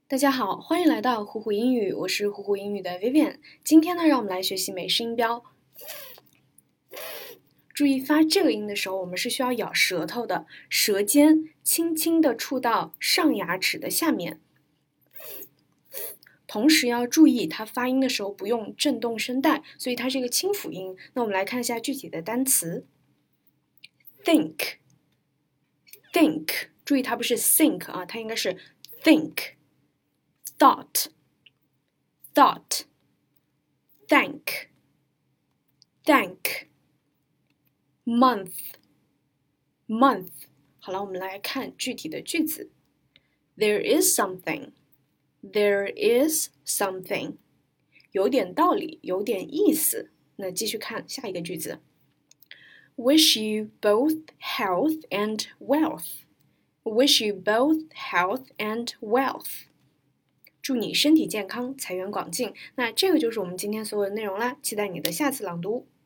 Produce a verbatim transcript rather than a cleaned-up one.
大家好，欢迎来到虎虎英语，我是虎虎英语的 Vivian。今天呢，让我们来学习美式音标。注意发这个音的时候，我们是需要咬舌头的，舌尖轻轻地触到上牙齿的下面。同时要注意，它发音的时候不用震动声带，所以它是一个清辅音。那我们来看一下具体的单词 ：think，think， 注意它不是 think 啊，它应该是 think。Thought, thought, thank, thank, month, month. 好了，我们来看具体的句子。There is something, there is something. 有点道理，有点意思。那继续看下一个句子。Wish you both health and wealth. Wish you both health and wealth.祝你身体健康，财源广进。那这个就是我们今天所有的内容啦，期待你的下次朗读。